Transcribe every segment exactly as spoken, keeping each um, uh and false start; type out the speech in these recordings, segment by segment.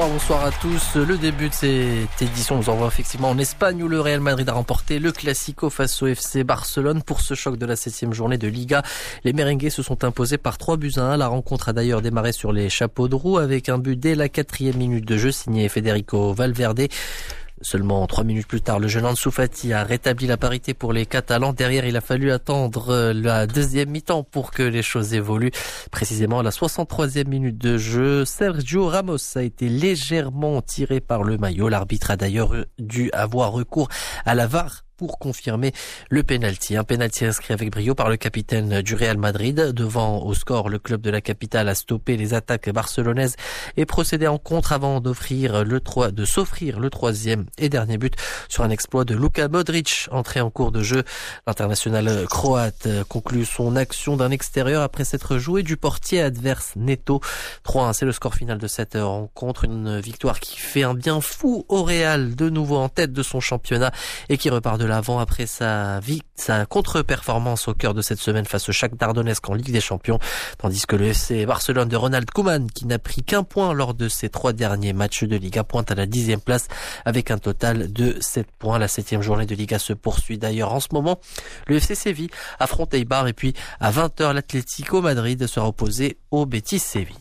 Bonsoir, bonsoir à tous. Le début de cette édition nous envoie effectivement en Espagne où le Real Madrid a remporté le Classico face au F C Barcelone pour ce choc de la septième journée de Liga. Les merengues se sont imposés par trois buts à un. La rencontre a d'ailleurs démarré sur les chapeaux de roue avec un but dès la quatrième minute de jeu signé Federico Valverde. Seulement trois minutes plus tard, le jeune Ansu Fati a rétabli la parité pour les Catalans. Derrière, il a fallu attendre la deuxième mi-temps pour que les choses évoluent. Précisément à la soixante-troisième minute de jeu, Sergio Ramos a été légèrement tiré par le maillot. L'arbitre a d'ailleurs dû avoir recours à la V A R pour confirmer le penalty. Un penalty inscrit avec brio par le capitaine du Real Madrid. Devant au score, le club de la capitale a stoppé les attaques barcelonaises et procédé en contre avant d'offrir le trois, de s'offrir le troisième et dernier but sur un exploit de Luka Modric, entré en cours de jeu. L'international croate conclut son action d'un extérieur après s'être joué du portier adverse Neto. trois à un, c'est le score final de cette rencontre. Une victoire qui fait un bien fou au Real, de nouveau en tête de son championnat et qui repart de l'avant après sa vie, sa contre-performance au cœur de cette semaine face au Shakhtar Donetsk en Ligue des Champions, tandis que le F C Barcelone de Ronald Koeman, qui n'a pris qu'un point lors de ses trois derniers matchs de Liga, pointe à la dixième place avec un total de sept points. La septième journée de Liga se poursuit d'ailleurs en ce moment. Le F C Séville affronte Eibar et puis à vingt heures, l'Atlético Madrid sera opposé au Betis Séville.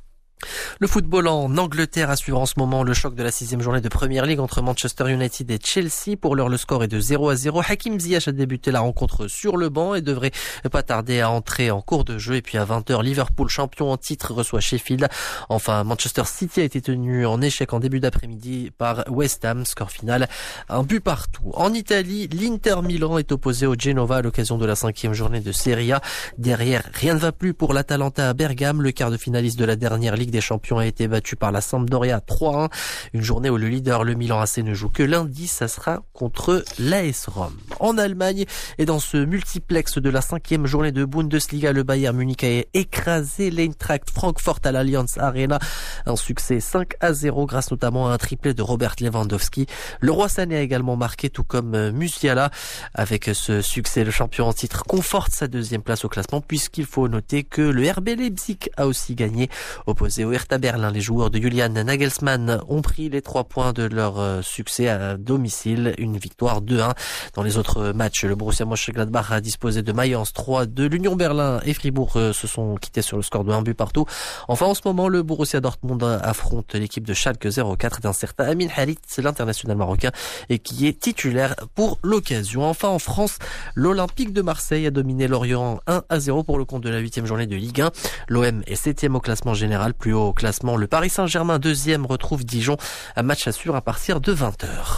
Le football en Angleterre à suivre en ce moment le choc de la sixième journée de Premier League entre Manchester United et Chelsea. Pour l'heure, le score est de zéro à zéro. Hakim Ziyech a débuté la rencontre sur le banc et devrait pas tarder à entrer en cours de jeu. Et puis à vingt heures, Liverpool, champion en titre, reçoit Sheffield. Enfin, Manchester City a été tenu en échec en début d'après-midi par West Ham. Score final, un but partout. En Italie, l'Inter Milan est opposé au Genova à l'occasion de la cinquième journée de Serie A. Derrière, rien ne va plus pour l'Atalanta à Bergame. Le quart de finaliste de la dernière Ligue des Champions a été battu par la Sampdoria trois à un. Une journée où le leader, le Milan A C, ne joue que lundi. Ça sera contre l'A S Rome. En Allemagne et dans ce multiplex de la cinquième journée de Bundesliga, le Bayern Munich a écrasé l'Eintracht Francfort à l'Allianz Arena. Un succès cinq à zéro grâce notamment à un triplé de Robert Lewandowski. Le Roi Sané a également marqué, tout comme Musiala. Avec ce succès, le champion en titre conforte sa deuxième place au classement, puisqu'il faut noter que le R B Leipzig a aussi gagné. Opposé au Hertha Berlin, les joueurs de Julian Nagelsmann ont pris les trois points de leur succès à domicile. Une victoire deux à un. Dans les autres matchs, le Borussia Mönchengladbach a disposé de Mayence trois à deux. L'Union Berlin et Fribourg se sont quittés sur le score de un but partout. Enfin, en ce moment, le Borussia Dortmund affronte l'équipe de Schalke zéro quatre d'un certain Amin Harit, l'international marocain, et qui est titulaire pour l'occasion. Enfin, en France, l'Olympique de Marseille a dominé Lorient un à zéro pour le compte de la huitième journée de Ligue un. L'O M est septième au classement général. Plus haut au classement, le Paris Saint-Germain deuxième retrouve Dijon. Un match à suivre à partir de vingt heures.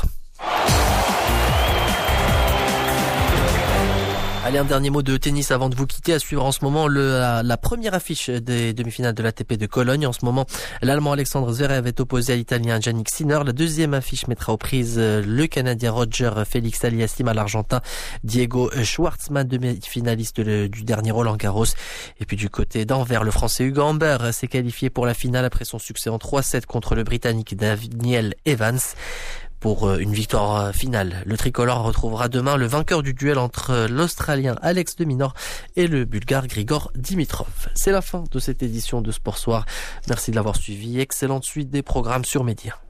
Allez, un dernier mot de tennis avant de vous quitter. À suivre en ce moment le, la, la première affiche des demi-finales de l'A T P de Cologne. En ce moment, l'Allemand Alexandre Zverev est opposé à l'Italien Jannik Sinner. La deuxième affiche mettra aux prises le Canadien Roger Félix Aliassime à l'Argentin Diego Schwartzmann, demi-finaliste du dernier Roland-Garros. Et puis du côté d'Anvers, le Français Hugo Humbert s'est qualifié pour la finale après son succès en trois sept contre le Britannique Daniel Evans. Pour une victoire finale, le tricolore retrouvera demain le vainqueur du duel entre l'Australien Alex de Minaur et le Bulgare Grigor Dimitrov. C'est la fin de cette édition de Sport Soir. Merci de l'avoir suivi. Excellente suite des programmes sur Média.